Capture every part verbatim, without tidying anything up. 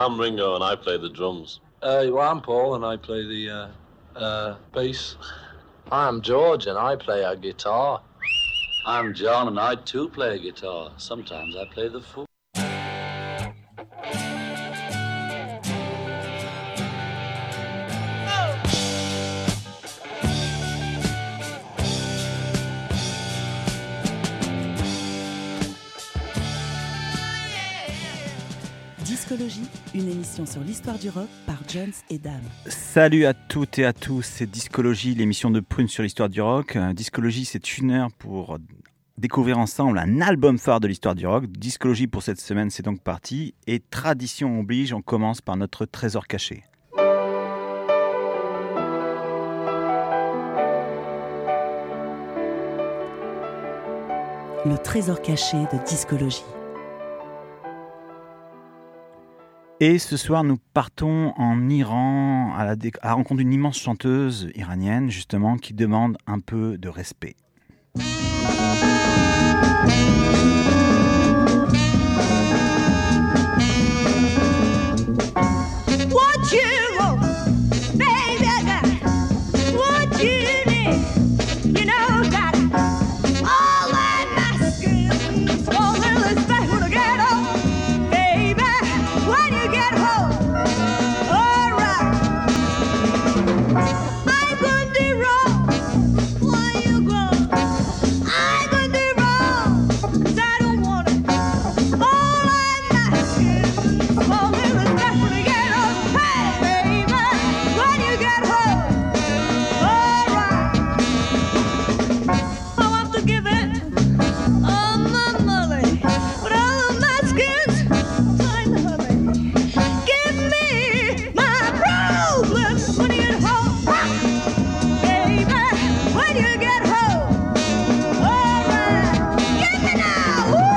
I'm Ringo and I play the drums. Uh, well, I'm Paul and I play the uh, uh, bass. I'm George and I play a guitar. I'm John and I too play a guitar. Sometimes I play the flute. Discologie, une émission sur l'histoire du rock par Jones et Dame. Salut à toutes et à tous, c'est Discologie, l'émission de Prune sur l'histoire du rock. Discologie, c'est une heure pour découvrir ensemble un album phare de l'histoire du rock. Discologie pour cette semaine, c'est donc parti. Et tradition oblige, on commence par notre trésor caché. Le trésor caché de Discologie. Et ce soir, nous partons en Iran à la, dé- à la rencontre d'une immense chanteuse iranienne, justement, qui demande un peu de respect. What you want, baby, I got what you need. You know that all that masculine, all the respect when I get home, baby. When you get home, alright. I'm gonna do wrong. Why you go? I'm gonna do wrong. 'Cause I don't want it. All I'm asking, all the respect when you get home. Hey, baby, when you get home, alright. I want to give it all my money, but all my skins, time to hurry. Give me my problems when you get home, baby. When you get home, alright. Give me now. Woo!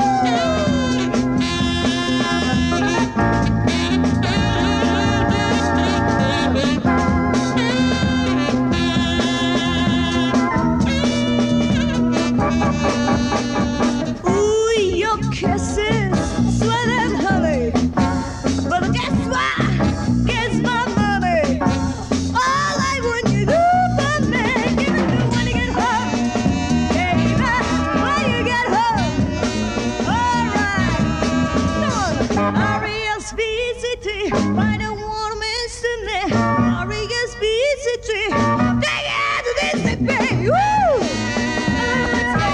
Ooh, your kisses, sweat and honey. But guess what? Guess my money. All I want you to do for me, give it to when you get home, baby. When you get home, alright. Come on, R E S P C T. I don't want to miss it. R E S P C T. Take it out to this baby. Woo! Let's go.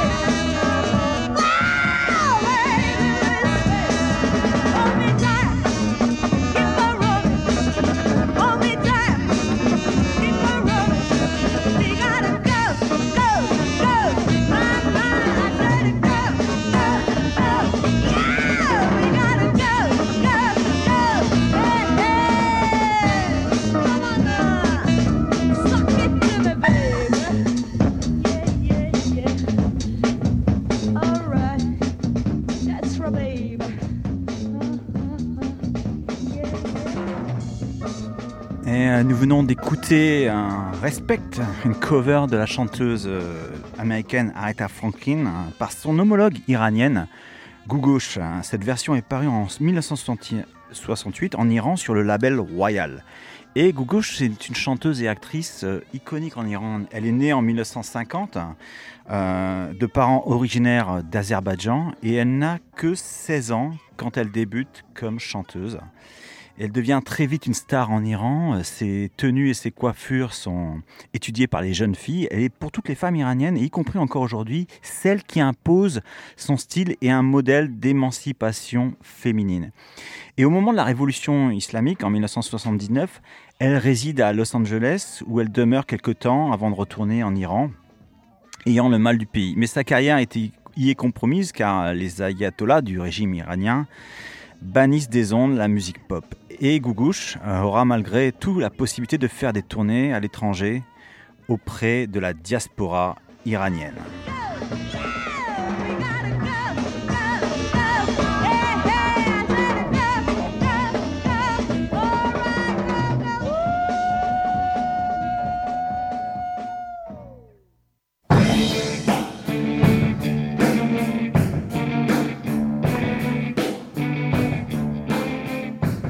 Wow, baby, let's go. Hold me tight, keep on rolling. Hold me tight, keep on rolling. We gotta go, go, go. My, my, I let it go, go, go. Yeah, we gotta go, go, go. Hey, hey. Come on now, suck it to me, baby. Yeah, yeah, yeah. All right, that's for baby. Et euh, nous venons d'écouter un Respect, une cover de la chanteuse euh, américaine Aretha Franklin hein, par son homologue iranienne Gougosh. Hein. Cette version est parue en dix-neuf cent soixante-huit en Iran sur le label Royal. Et Gougosh, c'est une chanteuse et actrice euh, iconique en Iran. Elle est née en dix-neuf cent cinquante, euh, de parents originaires d'Azerbaïdjan, et elle n'a que seize ans quand elle débute comme chanteuse. Elle devient très vite une star en Iran. Ses tenues et ses coiffures sont étudiées par les jeunes filles. Elle est pour toutes les femmes iraniennes, et y compris encore aujourd'hui, celle qui impose son style et un modèle d'émancipation féminine. Et au moment de la révolution islamique, en dix-neuf cent soixante-dix-neuf, elle réside à Los Angeles, où elle demeure quelque temps avant de retourner en Iran, ayant le mal du pays. Mais sa carrière était, y est compromise, car les ayatollahs du régime iranien bannissent des ondes la musique pop. Et Gougosh aura malgré tout la possibilité de faire des tournées à l'étranger auprès de la diaspora iranienne.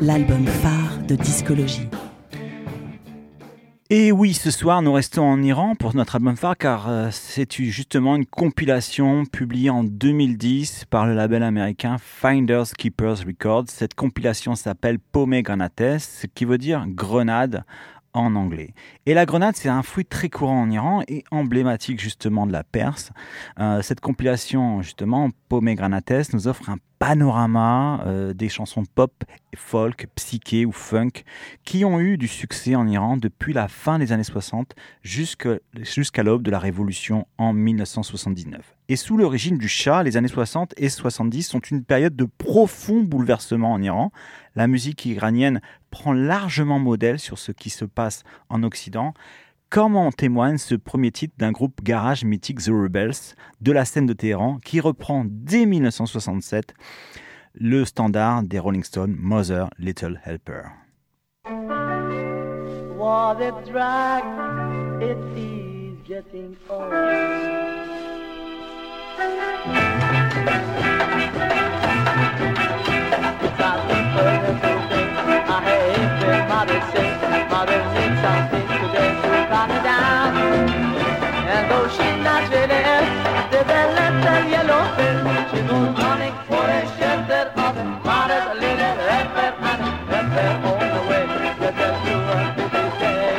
l'album phare de discologie. Et oui, ce soir, nous restons en Iran pour notre album phare car euh, c'est justement une compilation publiée en deux mille dix par le label américain Finders Keepers Records. Cette compilation s'appelle Pomegranates, ce qui veut dire grenade en anglais. Et la grenade, c'est un fruit très courant en Iran et emblématique justement de la Perse. Euh, cette compilation, justement, Pomegranates, nous offre un panorama euh, des chansons pop, folk, psyché ou funk qui ont eu du succès en Iran depuis la fin des années soixante jusqu'à, jusqu'à l'aube de la révolution en dix-neuf cent soixante-dix-neuf. Et sous le régime du Shah, les années soixante et soixante-dix sont une période de profond bouleversement en Iran. La musique iranienne prend largement modèle sur ce qui se passe en Occident, comme en témoigne ce premier titre d'un groupe garage mythique The Rebels de la scène de Téhéran qui reprend dès dix-neuf cent soixante-sept le standard des Rolling Stones, Mother Little Helper. What a drag it is getting old. It's not the first thing I hate when mother says mother needs something today to calm her down. And though she's not really ill, the little yellow pill, she goes running for a shelter of mother's little helper and helper all the way. Let her do her busy day.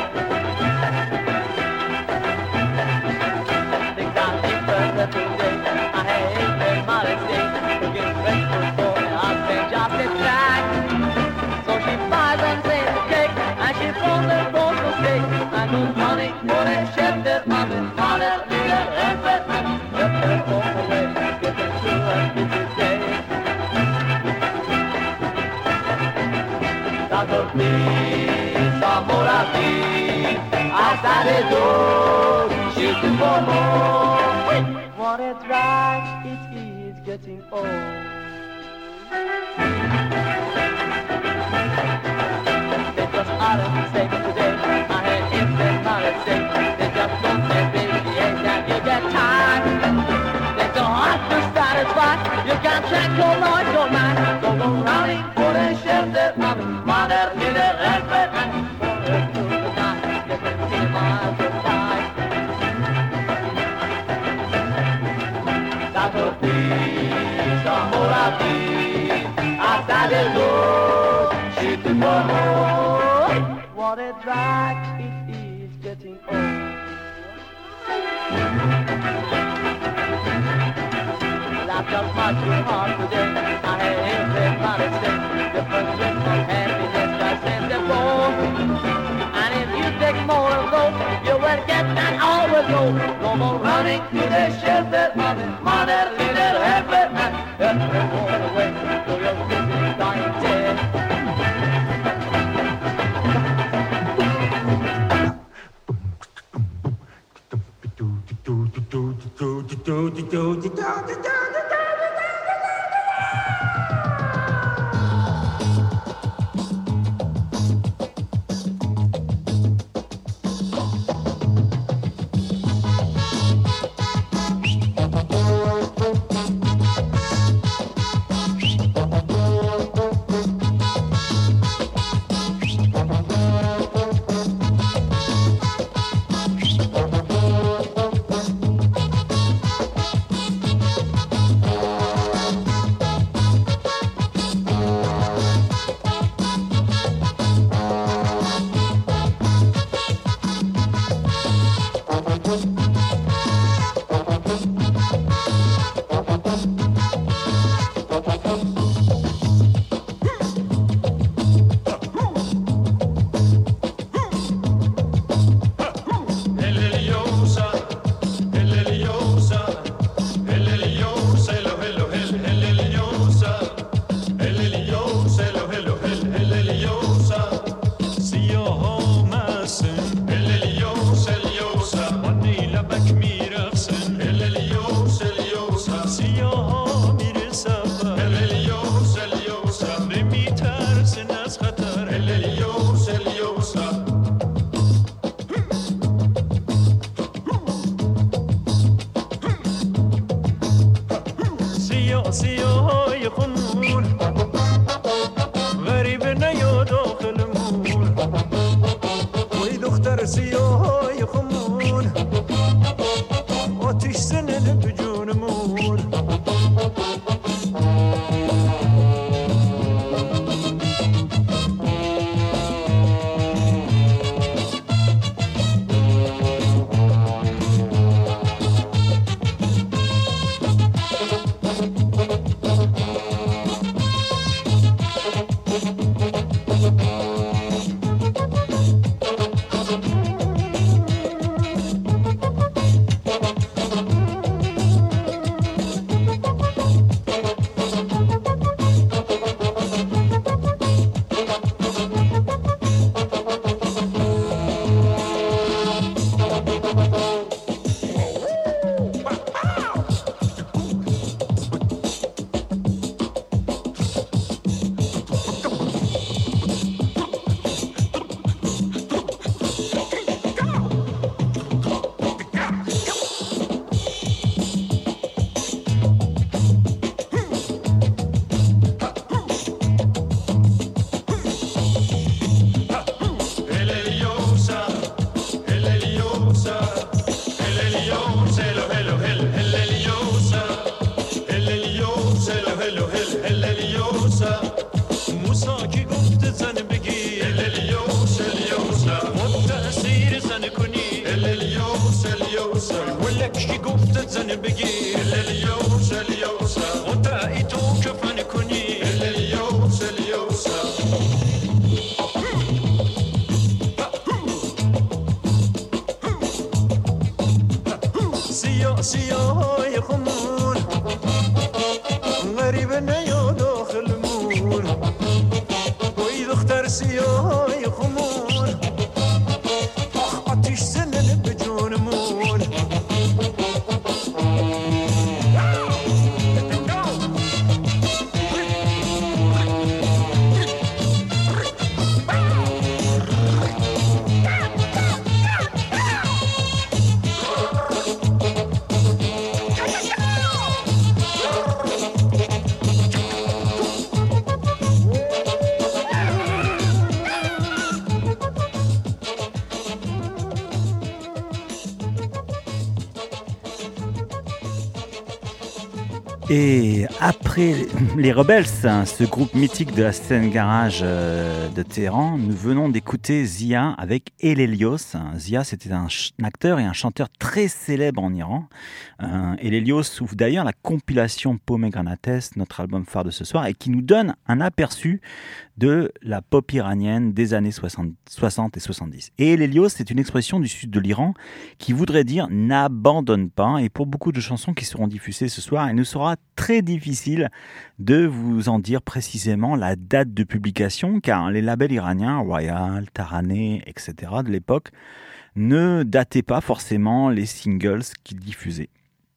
Things are different today. I hate when mother says to get breakfast for me. I'll say just a track. So she buys and says a cake and she pulls her clothes to stay and goes running for a shelter of his mother's little helper and helper all the way. Get her through her busy day. Tanto please, amore please, outside the door, shooting for more. What a drag it is getting old. They just aren't safe today. I heard if they're not safe, they just don't say baby eggs and you get tired. They don't have to satisfy. You can't check your noise, your mind. So go running for the shelter of mother, little helper, and for her through the night. Get them feel miles of time. Tanto please, amore please, outside the door, shooting for more. What a drag it is getting old. Life just much too hard today. I hate when mother says the first wish of happiness just sends the ball. And if you take more of those, you will get that overload. No more running to the shelter of his mother, little helper, and helper all the way to your busy dying day. سياهي خمول غريب نیا داخل مون وی دختر سیاه خمون آتیش زنن به جونمون Et après les Rebels, ce groupe mythique de la scène garage de Téhéran, nous venons d'écouter Zia avec El Helios. Zia, c'était un, ch- un acteur et un chanteur très célèbre en Iran. Euh, El Helios ouvre d'ailleurs la compilation Pomegranates, notre album phare de ce soir, et qui nous donne un aperçu de la pop iranienne des années soixante, soixante et soixante-dix. Et El Helios, c'est une expression du sud de l'Iran qui voudrait dire « n'abandonne pas ». Et pour beaucoup de chansons qui seront diffusées ce soir, il nous sera très difficile de vous en dire précisément la date de publication, car les labels iraniens, Royal, Taraneh, et cetera de l'époque, ne dataient pas forcément les singles qu'ils diffusaient.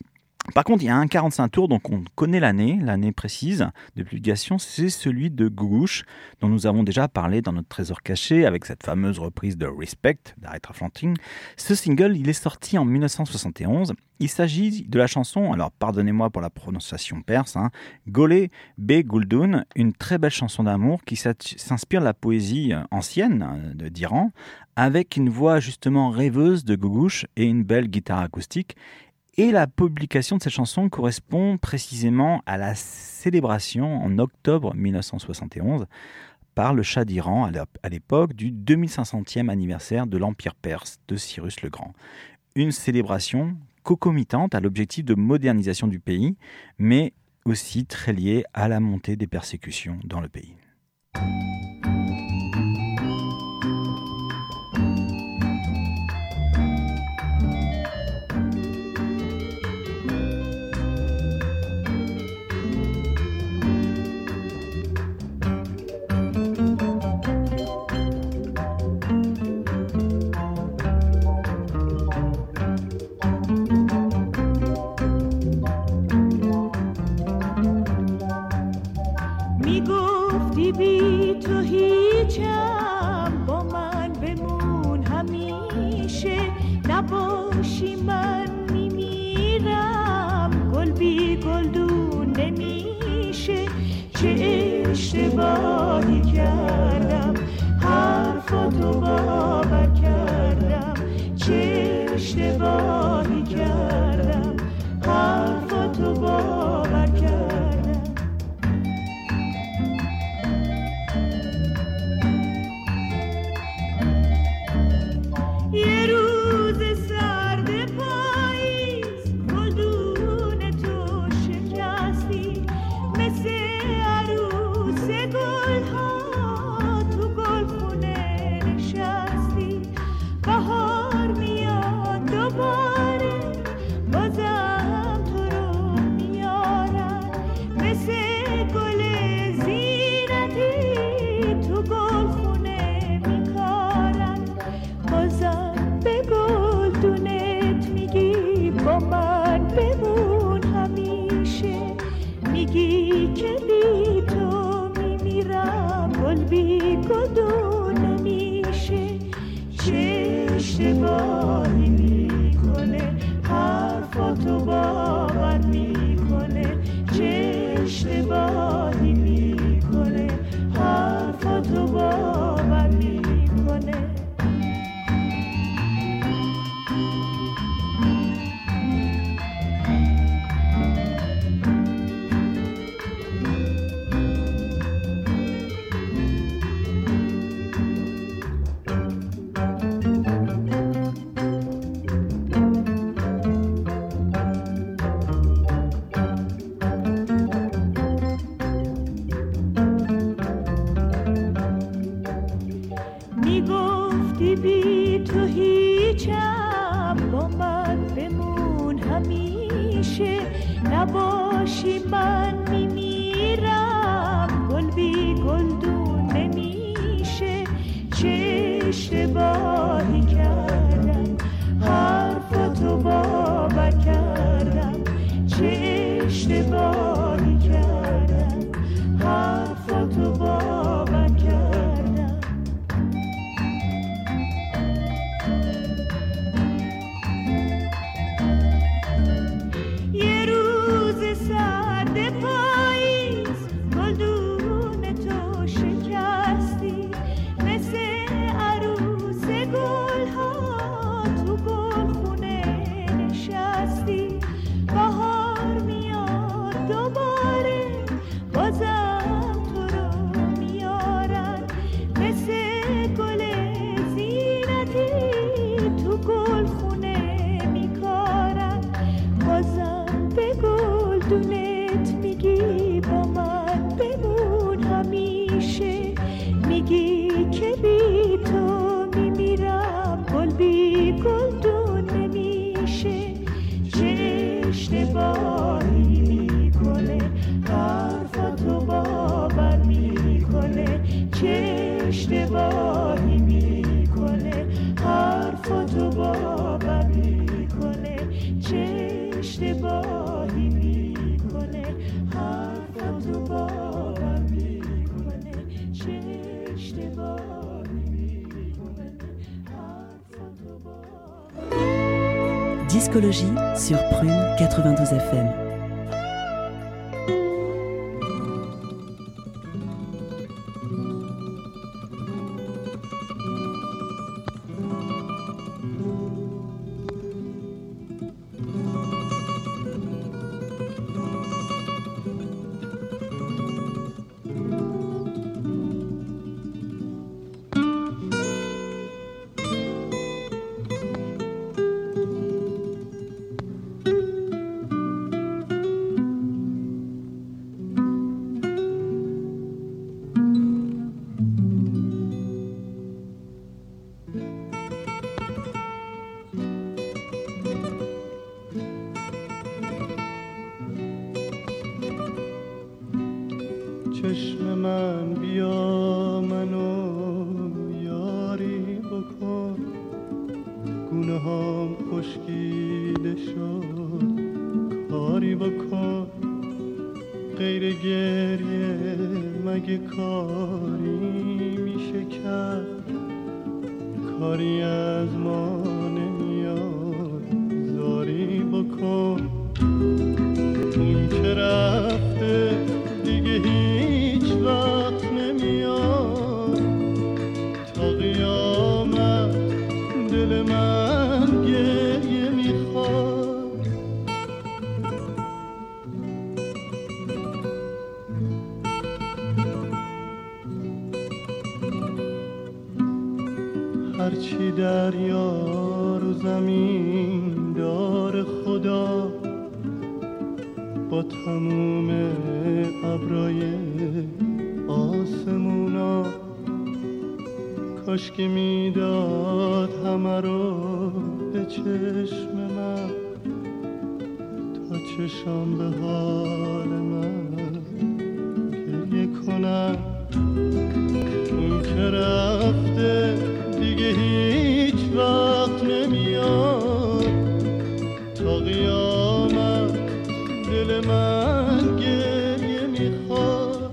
Par contre, il y a un quarante-cinq tours, donc on connaît l'année, l'année précise de publication, c'est celui de Gougouche, dont nous avons déjà parlé dans notre trésor caché, avec cette fameuse reprise de Respect d'Aretha Franklin. Ce single, il est sorti en dix-neuf cent soixante et onze. Il s'agit de la chanson, alors pardonnez-moi pour la prononciation perse, hein, Golé Be Guldoun, une très belle chanson d'amour qui s'inspire de la poésie ancienne d'Iran, avec une voix justement rêveuse de Gougouche et une belle guitare acoustique. Et la publication de cette chanson correspond précisément à la célébration en octobre dix-neuf cent soixante et onze par le Shah d'Iran à l'époque du deux mille cinq centième anniversaire de l'Empire perse de Cyrus le Grand. Une célébration concomitante à l'objectif de modernisation du pays, mais aussi très liée à la montée des persécutions dans le pays. میگفتی میگفتی بی تو هیچم، با من بمون همیشه، نباشی من میمیرم، گل بی گلدون نمیشه. چه اشتباهی کردم حرفاتو باور کردم، چه اشتباهی کردم حرفاتو باور کردم. یه روز سرد پاییز گلدون تو شکستی، مثل عروس گلها تو گلخونه نشستی. بهار میاد دوباره بازم تو رو میارن، مثل گل زینتی تو گلخونه میکارن. بازم به گلدونت میگی با من بمون همیشه، میگی که بی تو میمیرم، گل بی گلدون نمیشه. چه اشتباهی میکنه حرفاتو باور میکنه، چه اشتباهی میکنه حرفاتو باور میکنه، چه اشتباهی میکنه حرفاتو باور میکنه، چه اشتباهی میکنه حرفاتو باور. Discologie sur Prune quatre-vingt-douze F M. چشم من بیا منو یاری بکن، گونه هام خشکیده شد کاری بکن. غیر گریه مگه کاری میشه کرد، کاری از ما نمیاد زاری بکن. اون که رفته دیگه هیچ وقت نمیاد، تا قیامت دل من گریه میخواد. هرچی دریا رو زمین دار خدا، با تموم ابرای آسمونا، کاش که میداد همه رو به چشم من، تا چشم به حال من گریه کنم. اون که رفته دیگه هیچ وقت نمیاد، تا قیامت دل من گریه میخواد.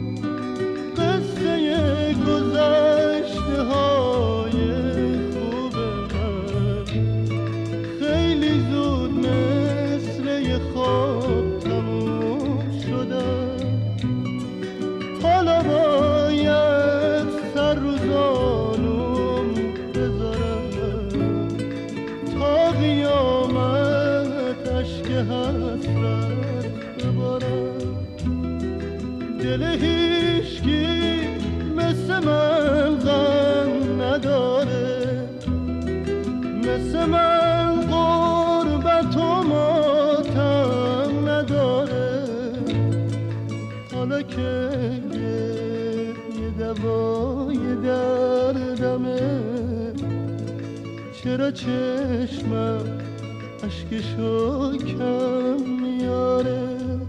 قصه گذشته های خوب من خیلی زود مثل یه خواب تموم شدن. حالا باید سر رو زانوم بذارم، تا قیامت اشک حسرت ببارم. دل هیچکی مثل من غم نداره، مثل من غربت و ماتم نداره. حالا که یه دوای در دمه چرا چشمم اشکشو کم میاره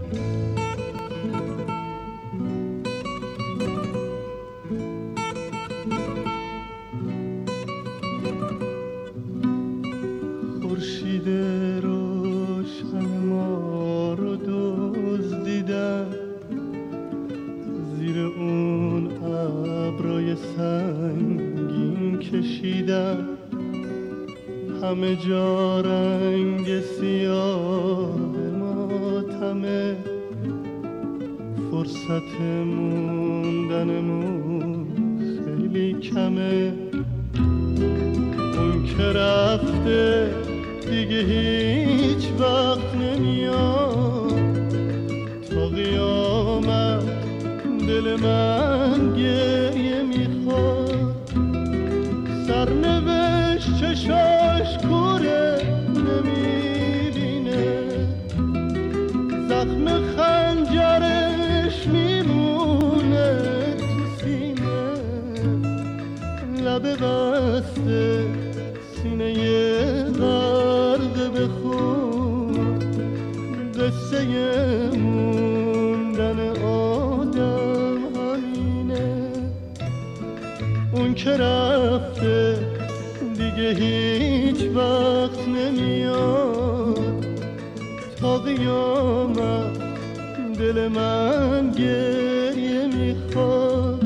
خورشید روشن ما رو دزدیدن زیر اون ابرای سنگین کشیدن همه جا رنگ سیاه ماتمه فرصت موندنمون خیلی کمه اون که رفته دیگه هیچ وقت نمیاد تا قیامت دل من گریه میخواد سرنوشت چشاش کوره نمیبینه زخم خنجرش میمونه تو سینه لب بسته سینه غرق به خون قصه موندن آدم همینه اون که رفته دیگه هیچ وقت نمیاد تا قیامت دل من گریه میخواد.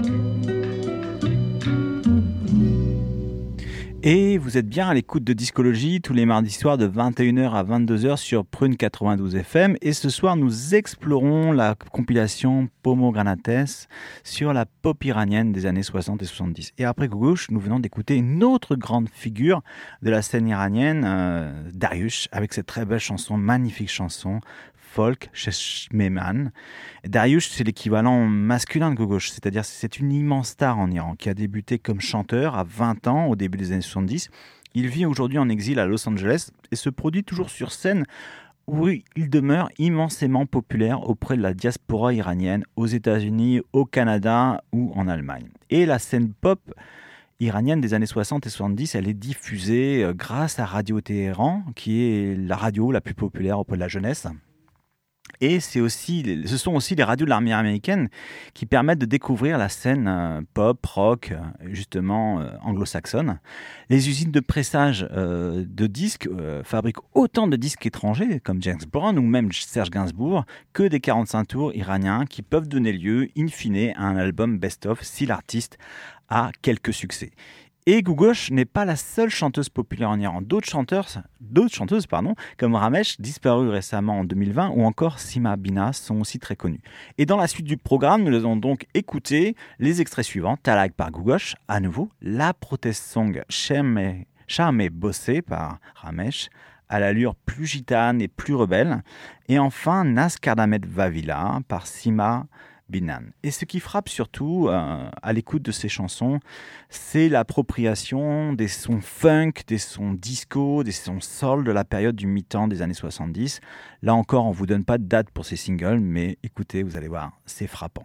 Et vous êtes bien à l'écoute de Discologie tous les mardis soirs de vingt et une heures à vingt-deux heures sur Prune quatre-vingt-douze F M. Et ce soir, nous explorons la compilation Pomogranates sur la pop iranienne des années soixante et soixante-dix. Et après Gugoush, nous venons d'écouter une autre grande figure de la scène iranienne, euh, Dariush, avec cette très belle chanson, magnifique chanson, folk, Cheshmeman. Dariush, c'est l'équivalent masculin de Gugoush, c'est-à-dire c'est une immense star en Iran qui a débuté comme chanteur à vingt ans au début des années soixante-dix. Il vit aujourd'hui en exil à Los Angeles et se produit toujours sur scène où il demeure immensément populaire auprès de la diaspora iranienne aux États-Unis, au Canada ou en Allemagne. Et la scène pop iranienne des années soixante et soixante-dix, elle est diffusée grâce à Radio Téhéran, qui est la radio la plus populaire auprès de la jeunesse. Et c'est aussi, ce sont aussi les radios de l'armée américaine qui permettent de découvrir la scène euh, pop, rock, justement euh, anglo-saxonne. Les usines de pressage euh, de disques euh, fabriquent autant de disques étrangers, comme James Brown ou même Serge Gainsbourg, que des quarante-cinq tours iraniens qui peuvent donner lieu, in fine, à un album best-of si l'artiste a quelques succès. Et Gugoush n'est pas la seule chanteuse populaire en Iran. D'autres chanteurs, d'autres chanteuses, pardon, comme Ramesh, disparu récemment en deux mille vingt, ou encore Sima Bina, sont aussi très connues. Et dans la suite du programme, nous allons donc écouter les extraits suivants. Talag par Gugoush, à nouveau, la protest song Shame Bossé par Ramesh, à l'allure plus gitane et plus rebelle. Et enfin, Nas Kardamet Vavila par Sima Binan. Et ce qui frappe surtout euh, à l'écoute de ces chansons, c'est l'appropriation des sons funk, des sons disco, des sons soul de la période du mi-temps des années soixante-dix. Là encore, on ne vous donne pas de date pour ces singles, mais écoutez, vous allez voir, c'est frappant.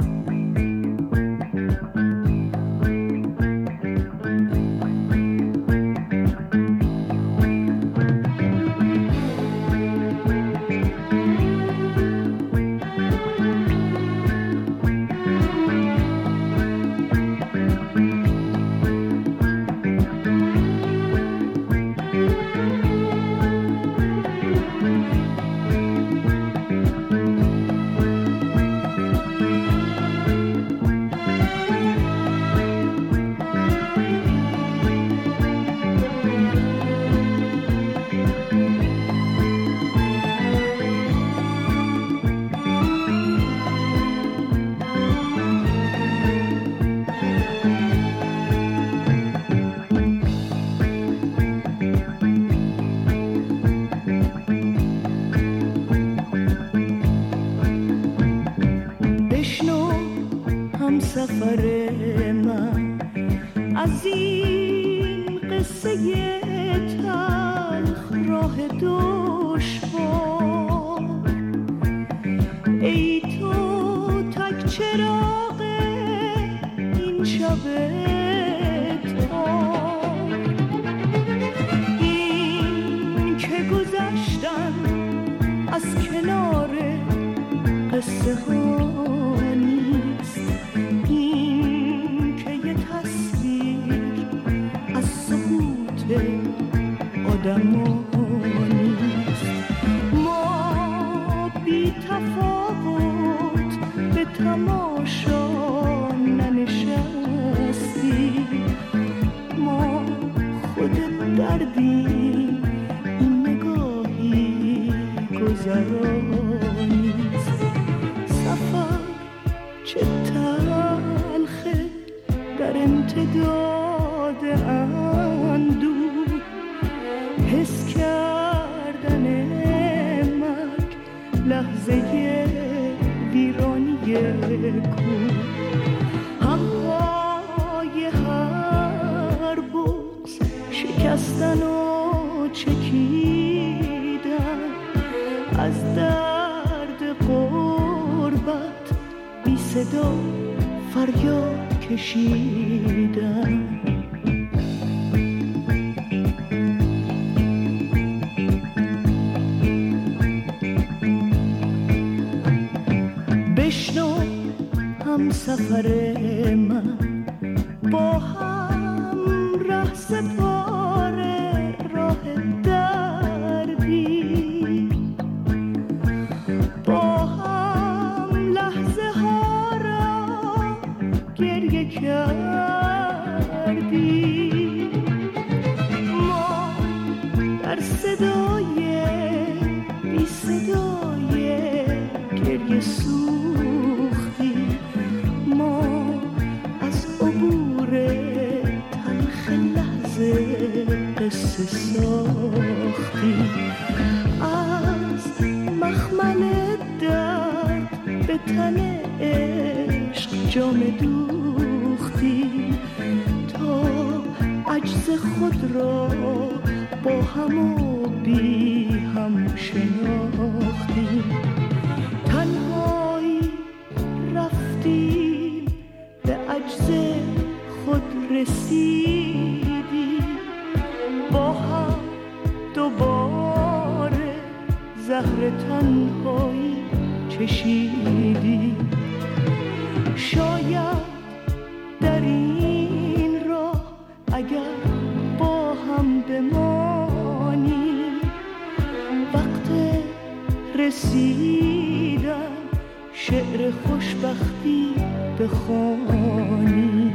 سفر من از این قصه تلخ راه دشوار ای تو تک چراغ این شب قصه ها نیست، این که یه تصویر از سقوط آدم ها نیست. ما بی تفاوت به تماشا ننشستیم، ما خود دردیم، این نگاهی گذرانیست. سفر چه تلخه در امتداد اندوه، حس کردن مرگ لحظه ویرانی کوه. همهای هر بغض شکستن و چکیدن، از درد غربت بی صدا فریاد کشیدن. بشنو هم سفر من، با هم ره سپاره راه دربی، با هم لحظه ها را گریه کردی. ما در صدای بی صدای گریه سوختی، ما از عبور تلخ لحظه قصه ساختی. از مخمل درد به تن عشق جام دوختی، تا عجز خود را با هم و بی هم شناختی. تنهایی رفتیم به عجز خود رسیدی، با هم دوباره زهر تنهایی چشیدی. شاید در این راه اگر با هم بمانی، وقت رسیدن شعر خوشبختی بخوانی.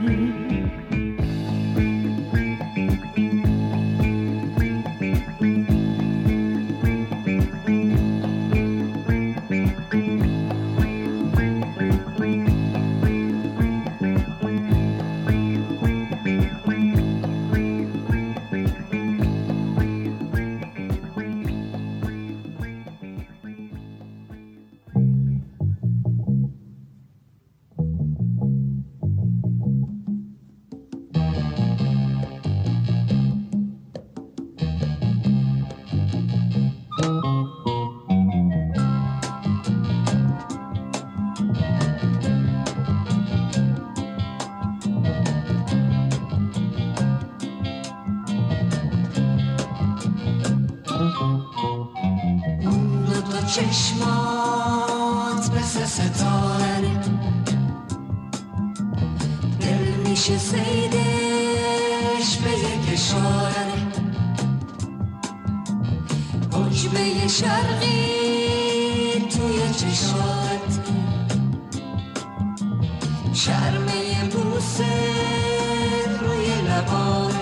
چشمات مثل ستاره، دل میشه سیدش به یک اشاره. حجبه شرقی توی چشات، شرمه بوسه روی لبات.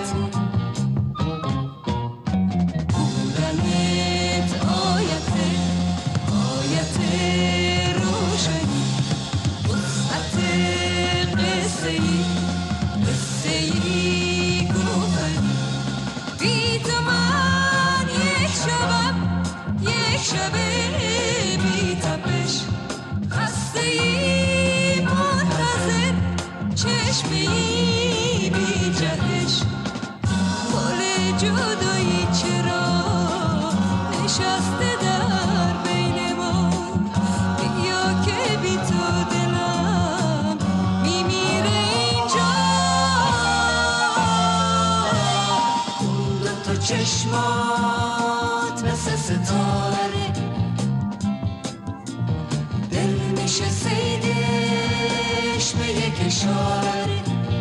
چشمات مثل ستاره، دل میشه سیدش به یک اشاره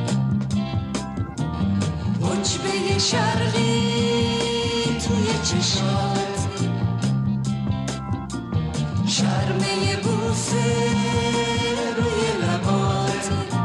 عجبه شرقی توی چشات شرمه بوسه روی لبات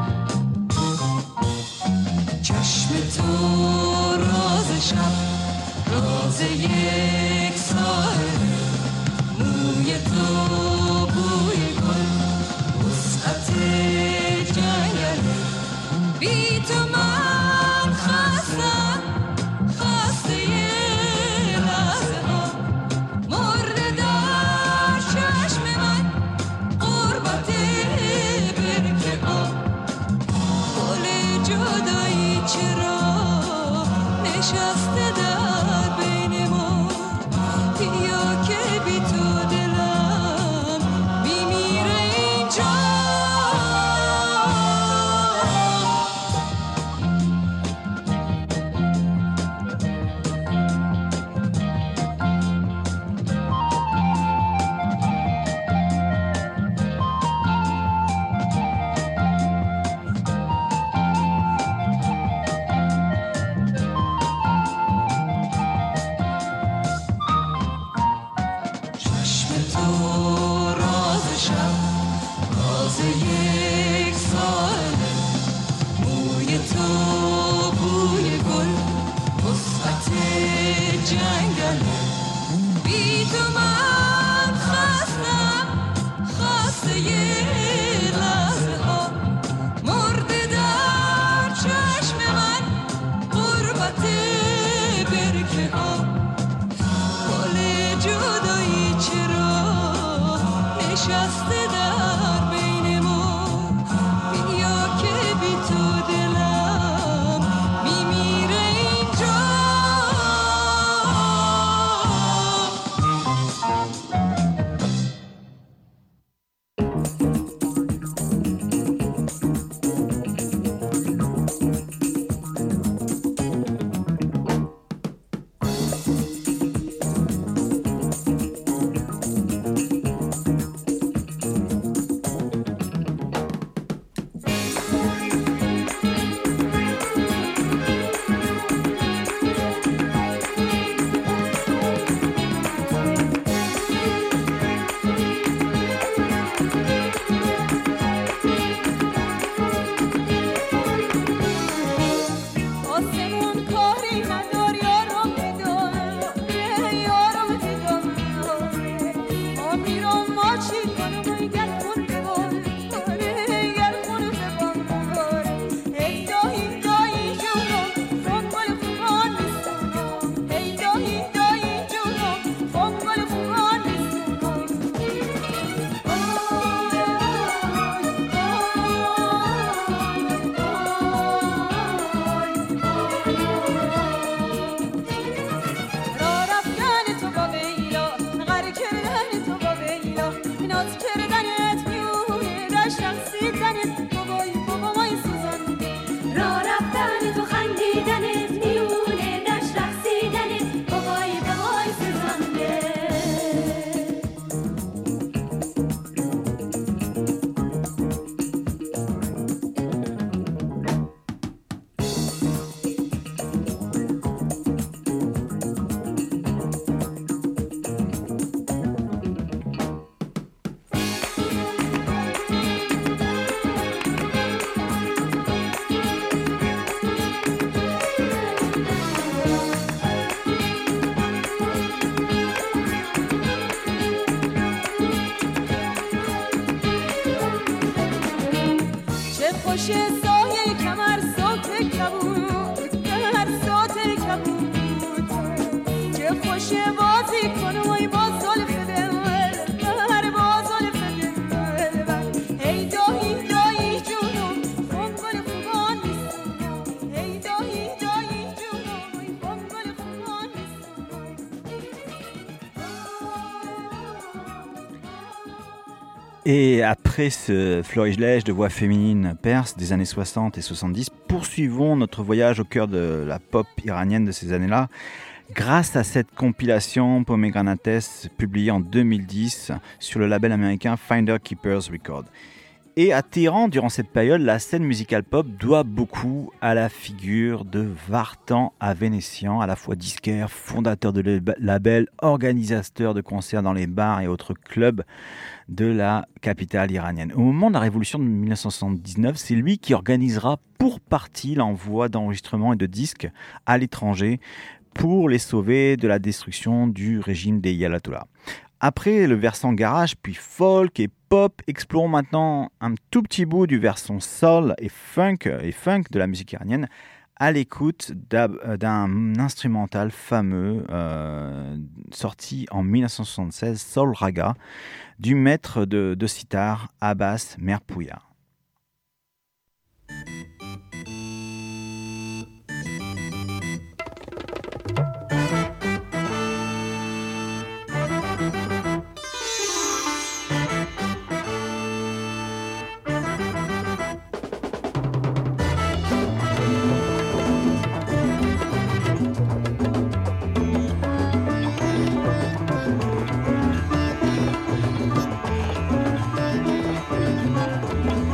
چشم تو راز شب راز یک ساعت موی تو بوی گل وسعت جنگل بی تو من خستم خسته یه لحظه ها مرده در چشم من قربت برکه ها گل جدایی چرا نشسته در بین ما بیا که بی تو دلم میمیره اینجا چشم تو راز شب راز یک ساله موی تو بوی گل وسعت جنگل بی تو من خستم خسته یه لحظه ها مرده در چشم من قربت برکه ها گل جدایی چرا نشسته در بین ما بیا که بی تو دلم میمیره اینجا آسمون کاری ندار یارم میدار یارم دیدم ما میرم ما چی کنم گر خون ببار گر خون ببار ای دایی دایی جونم فنگل خوبان نیستم ای دایی دایی جونم فنگل خوبان را رفتن تو با بیلا غر کردن تو با بیلا ناز کردنت میونه دشت رقصیدنت بابای بابای سوزان را رفتن تو خندیدنت میونه دشت رقصیدنت بابای بابای سوزانده چه خوش سایه کمر صوت کبود کمر صوت کبود چه خوش بازی کن وای با زلف دلبر با زلف دلبر ای دایی دایی جونم فنگل خوبان نیستم ای دایی دایی جونم وای فنگل خوبان Et après ce florilège de voix féminines perses des années soixante et soixante-dix, poursuivons notre voyage au cœur de la pop iranienne de ces années-là, grâce à cette compilation Pomegranates publiée en deux mille dix sur le label américain Finder Keepers Records. Et à Téhéran, durant cette période, la scène musicale pop doit beaucoup à la figure de Vartan Avenesyan, à la fois disquaire, fondateur de label, organisateur de concerts dans les bars et autres clubs de la capitale iranienne. Au moment de la révolution de dix-neuf cent soixante-dix-neuf, c'est lui qui organisera pour partie l'envoi d'enregistrements et de disques à l'étranger pour les sauver de la destruction du régime des ayatollahs. Après le versant garage, puis folk et pop, explorons maintenant un tout petit bout du versant soul et funk, et funk de la musique iranienne à l'écoute d'un instrumental fameux euh, sorti en dix-neuf cent soixante-seize, Soul Raga, du maître de, de sitar Abbas Merpouya. Thank you.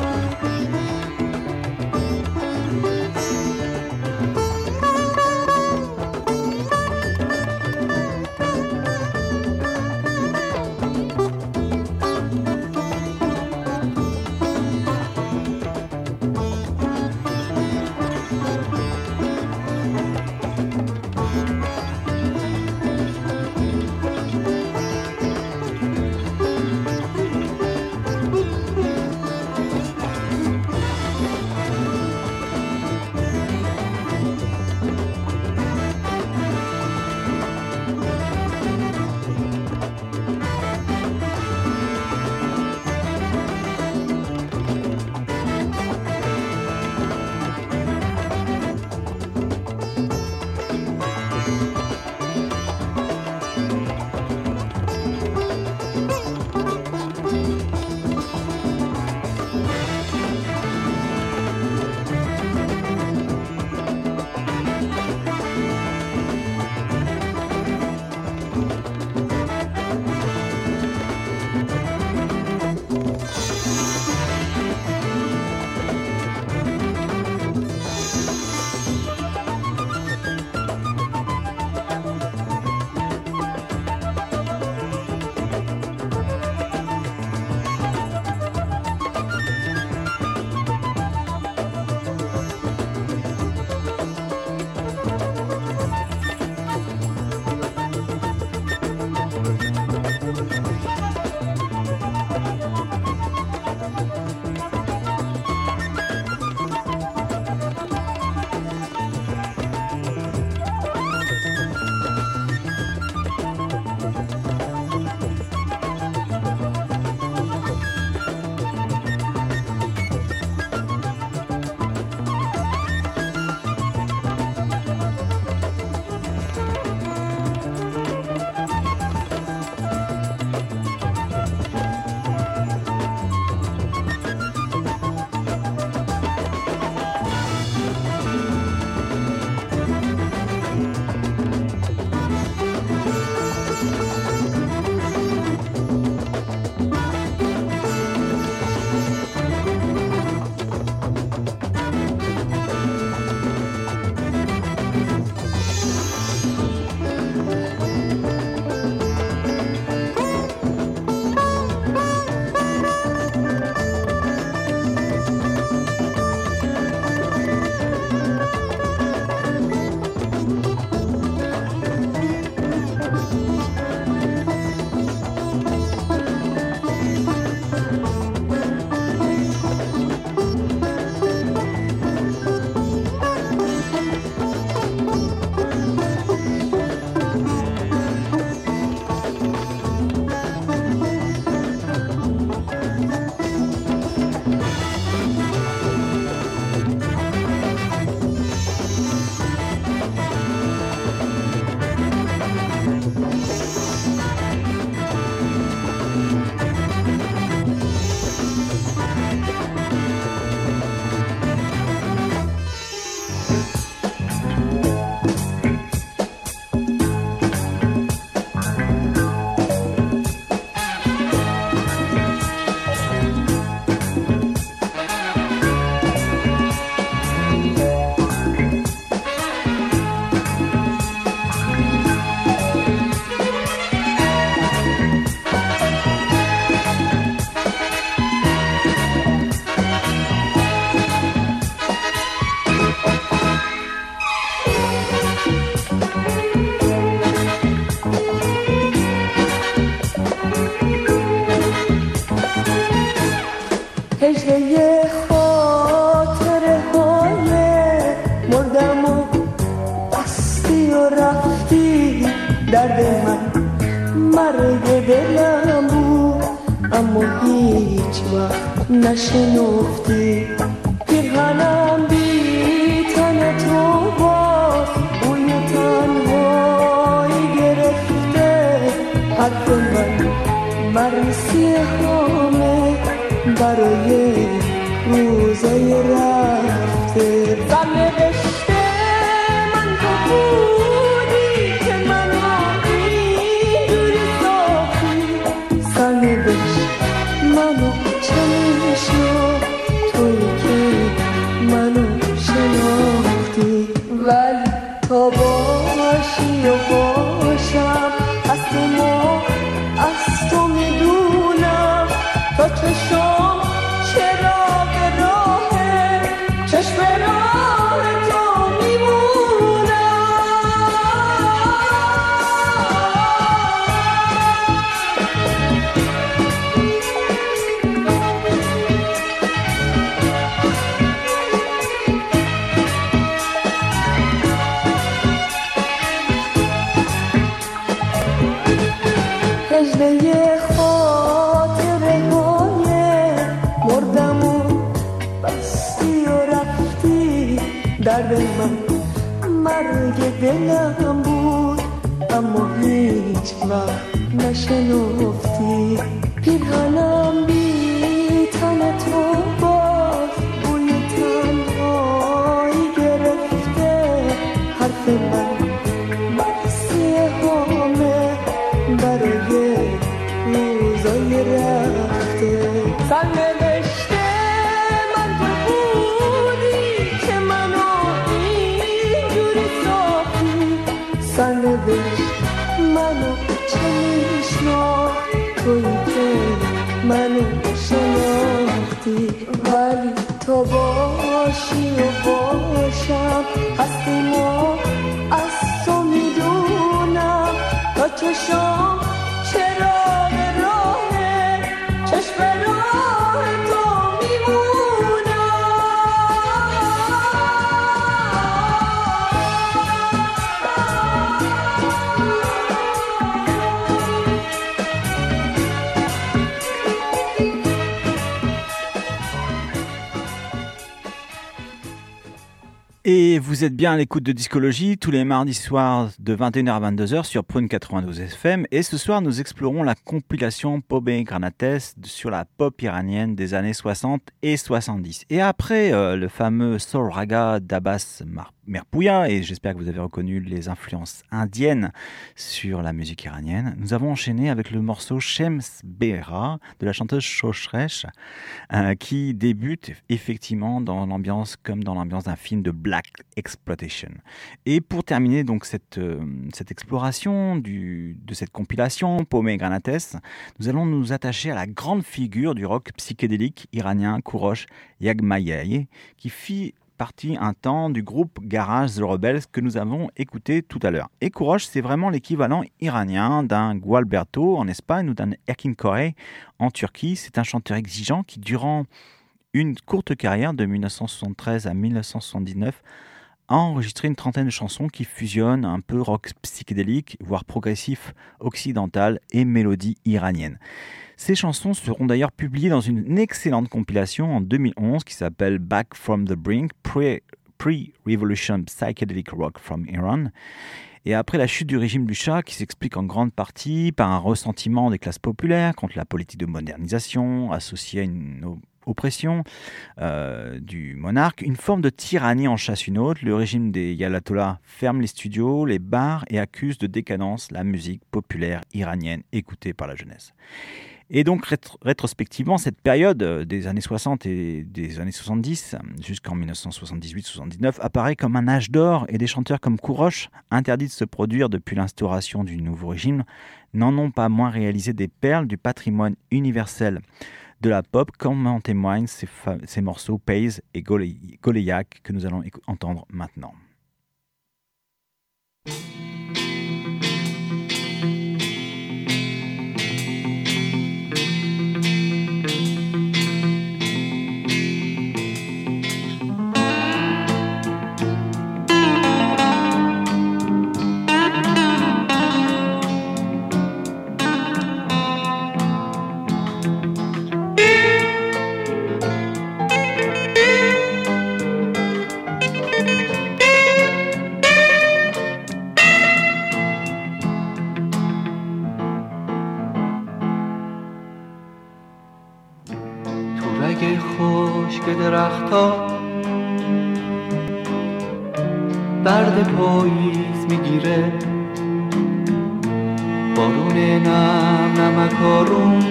مرگ دلم بود اما هیچ وقت نشنفتی پیرهنم بی تن تو باز بوی تنهایی گرفته حرف من مرسی همه برای روزای رفته سرنوشته من تو بودی که منو اینجوری ساختی سرنوشت منو چنین شد تویی که منو شناختی ولی تا باشی و باشم از ما از تو میدونم تا چشم چراغ راهه چشم راه تو میمونم هجله خاطره های مردم و بستی و رفتی درد من مرگ دلم بود اما هیچ وقت نشنفتی پیرهنم بی تن تو باز بوی تنهایی گرفته حرف من مرسی همه برای روزای رفته سرنوشته من تو بودی که منو اینجوری ساختی سرنوشت منو چنین شناخت تویی که منو شناختی ولی تو باشی و باشم هستی ما از تو میدونم تا چشم چراغ راهه چشم راه تو میمونم Et vous êtes bien à l'écoute de Discologie tous les mardis soirs de vingt et une heures à vingt-deux heures sur Prune quatre-vingt-douze F M. Et ce soir, nous explorons la compilation Pomegranates sur la pop iranienne des années soixante et soixante-dix. Et après euh, le fameux Soul Raga d'Abbas Mar- Merpouya, et j'espère que vous avez reconnu les influences indiennes sur la musique iranienne, nous avons enchaîné avec le morceau Shems Behra de la chanteuse Shoshresh, euh, qui débute effectivement dans l'ambiance comme dans l'ambiance d'un film de Black Exploitation. Et pour terminer donc cette, euh, cette exploration du, de cette compilation Pomegranates, nous allons nous attacher à la grande figure du rock psychédélique iranien Kourosh Yagmayei, qui fit partie un temps du groupe Garage The Rebels que nous avons écouté tout à l'heure. Et Kourosh, c'est vraiment l'équivalent iranien d'un Gualberto en Espagne ou d'un Erkin Koray en Turquie. C'est un chanteur exigeant qui, durant une courte carrière de dix-neuf cent soixante-treize à dix-neuf cent soixante-dix-neuf, a enregistré une trentaine de chansons qui fusionnent un peu rock psychédélique, voire progressif occidental et mélodie iranienne. Ces chansons seront d'ailleurs publiées dans une excellente compilation en deux mille onze qui s'appelle Back from the Brink, Pre- Pre-Revolution Psychedelic Rock from Iran. Et après la chute du régime du Shah, qui s'explique en grande partie par un ressentiment des classes populaires contre la politique de modernisation associée à une oppression euh, du monarque, une forme de tyrannie en chasse une autre, le régime des Ayatollahs ferme les studios, les bars et accuse de décadence la musique populaire iranienne écoutée par la jeunesse. Et donc, rétro- rétrospectivement, cette période des années soixante et des années soixante-dix, jusqu'en dix-neuf cent soixante-dix-huit soixante-dix-neuf, apparaît comme un âge d'or et des chanteurs comme Kourosh, interdits de se produire depuis l'instauration du nouveau régime, n'en ont pas moins réalisé des perles du patrimoine universel de la pop, comme en témoignent ces, fa- ces morceaux Pays et Goley- Goleyak que nous allons éc- entendre maintenant. درخت‌ها درد پاییز میگیره، بارون نم نمکارون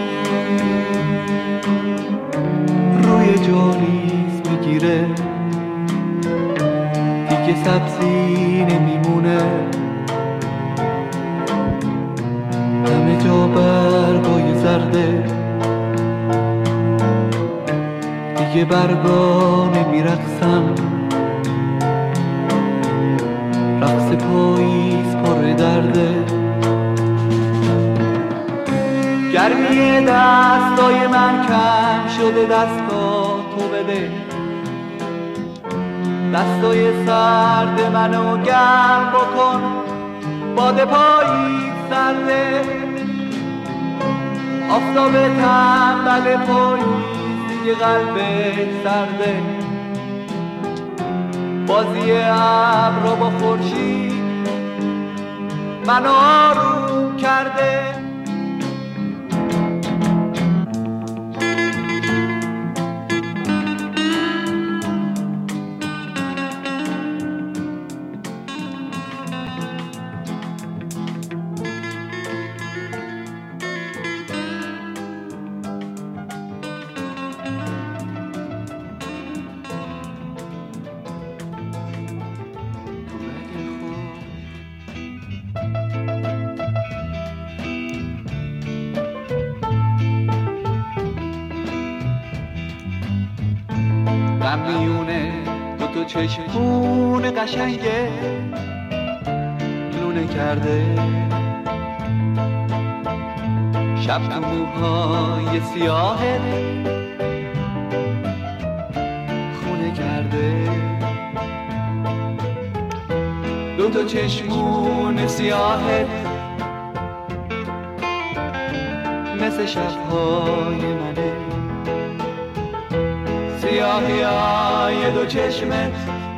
روی جاریز میگیره، دیگه سبزی نمیمونه، همه جا برگای زرده، دیگه برگا نمیرقصم، رقص پاییز پر درده، گرمی دستای من کم شده، دستا تو بده، دستای سرد منو گرم بکن، باد پاییز سرده، آفتاب تنبل پاییز دیگه قلبش سرده، بازی ابرا با خورشید منو آروم کرده. میونه دو تا چشمون قشنگه لونه کرده، شب تو موهای سیاهه خونه کرده، دو تا چشمون سیاهه مثل شبهای منه، سیاهی های دو چشمت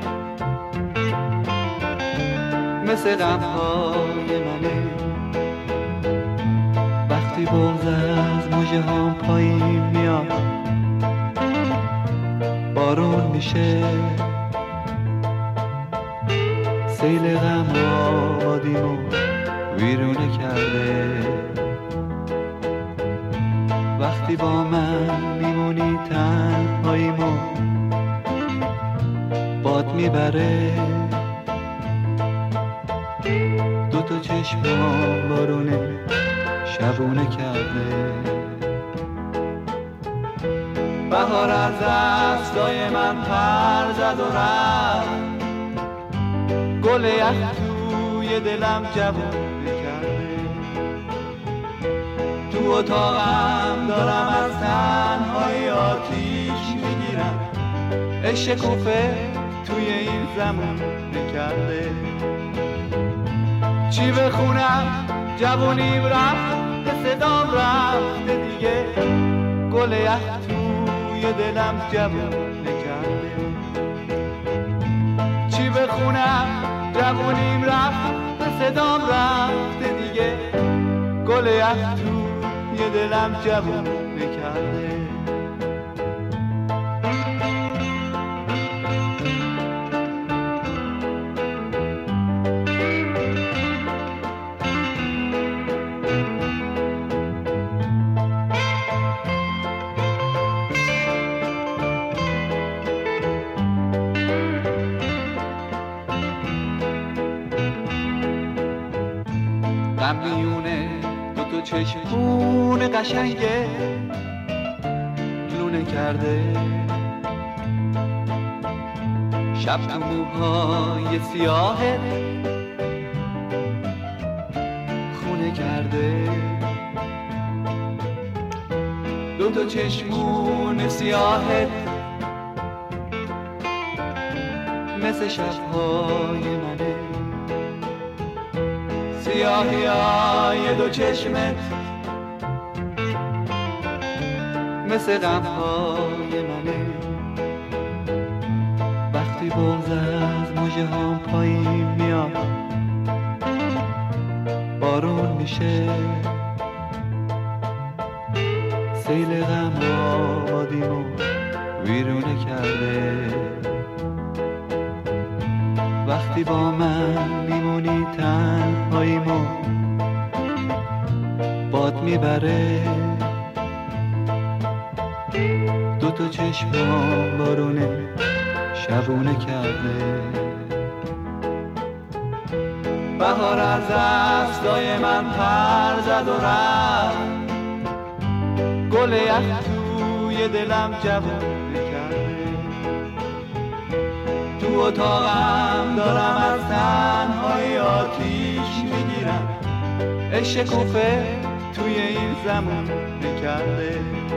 مثل غمهای منه، وقتی بغض از مژه هام پایین میاد بارون میشه، سیل غم آبادیمو ویرونه کرده، وقتی با من میمونی تنهاییمو باد میبره، دو تا چشمام بارونه شبونه کرده، بهار از دستای من پر زد و رفت، گل یخ توی دلم جوونه کرده، تو اتاقم دارم از تنهایی آتیش میگیرم، عشق کوفه توی این زمان نکرده، چی بخونم جوونیم رفت به صدام رفته دیگه، گل یخ توی دلم جوون نکرده، چی بخونم جوونیم رفت به صدام رفته دیگه، گل یخ توی دلم جوون نکرده. غمیونه دو تا چشمون قشنگه لونه کرده، شب تو موهای سیاهه خونه کرده، دو تا چشمون سیاهه مثل شبهای منه، سیاهی های دو چشمت مثل غمهای منه، وقتی بغض از مژه هام پایین میاد بارون میشه، سیل غم آبادیمو ویرونه کرد. کرده. وقتی با من میمونی تنهاییمو باد میبره، دو تا چشمام بارونه شبونه کرده. بهار از دستای من پر زد و رفت، گل یخ توی دلم جوونه کرده. تو اتاقم دارم از تنهایی آتیش میگیرم، عشق کوفه توی این زمان نکرده.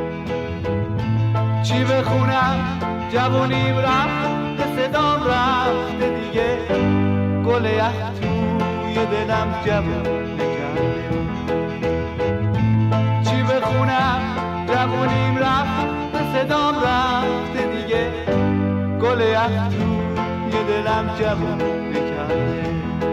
چی بخونم جوونیم رفت، به صدام رفته دیگه، گل یخ توی دلم جوون نکرده. چی بخونم جوونیم رفت، به صدام رفته دیگه، گل یخ توی دلم جوون نکرده.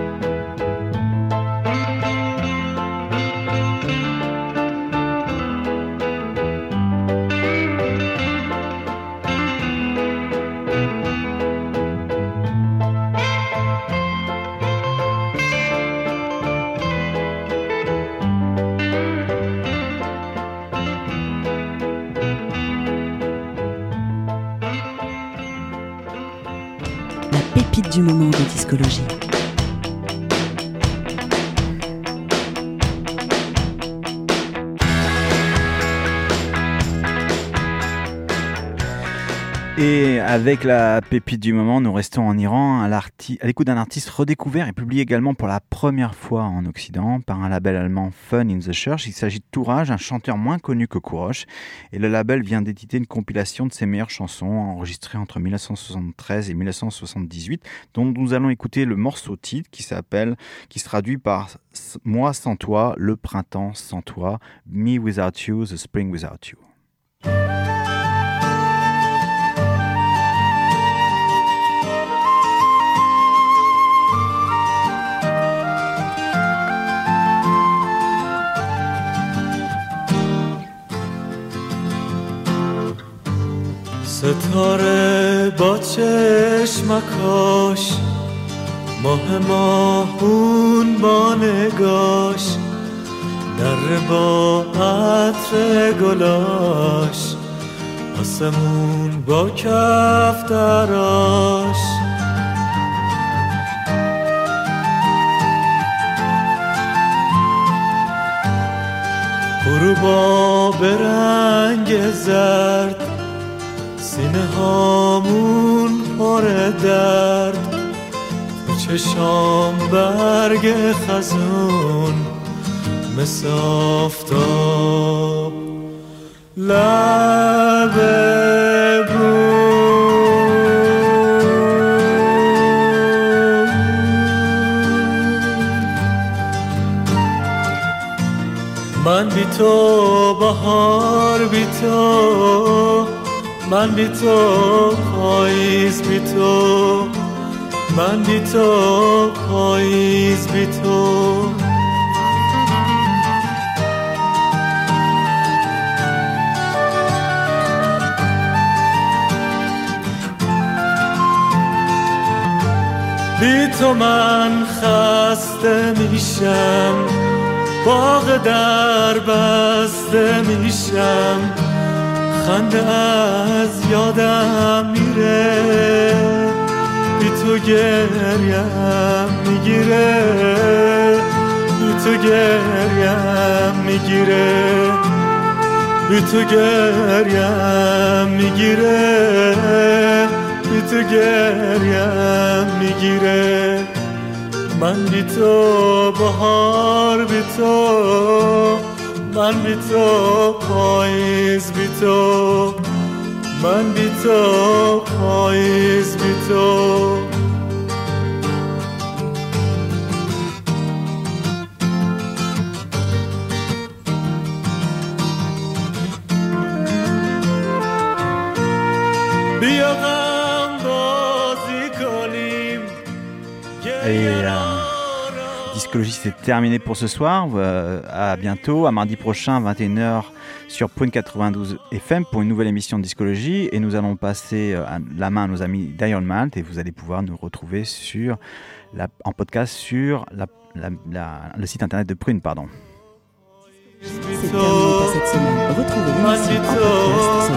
Pépite du moment de discologie. Et avec la pépite du moment, nous restons en Iran à, l'arti- à l'écoute d'un artiste redécouvert et publié également pour la première fois en Occident par un label allemand Fun in the Church. Il s'agit de Touraj, un chanteur moins connu que Kourosh. Et le label vient d'éditer une compilation de ses meilleures chansons enregistrées entre dix-neuf cent soixante-treize et dix-neuf cent soixante-dix-huit, dont nous allons écouter le morceau titre qui s'appelle, qui se traduit par Moi sans toi, le printemps sans toi, Me without you, the spring without you. ستاره با چشمکاش، ماه ماهون با نگاش، در با عطر گلاش، آسمون با کف دراش. غروبا به رنگ زرد، سینه هامون پر درد، تو چشام برگ خزون مثل آفتاب، لب من بی تو بهار بی تو، من بی تو پاییز بی تو، من بی تو پاییز بی تو. بی تو من خسته میشم، باغ در بسته میشم، خنده از یادم میره، بی تو گریم میگیره، بی تو گریم میگیره، بی تو گریم میگیره، بی تو گریم میگیره. من بی تو بهار بی تو، من بی تو پاییز بی تو، من بی تو پاییز بی تو. بیا غم بازی کنیم. Et euh, Discologie, c'est terminé pour ce soir. Euh, à bientôt, à mardi prochain, vingt et une heures sur Prune quatre-vingt-douze F M pour une nouvelle émission de Discologie. Et nous allons passer euh, la main à nos amis d'Iron Malt et vous allez pouvoir nous retrouver sur la, en podcast sur la, la, la, le site internet de Prune. Pardon. C'est terminé pour cette semaine. Retrouvez l'émission en podcast sur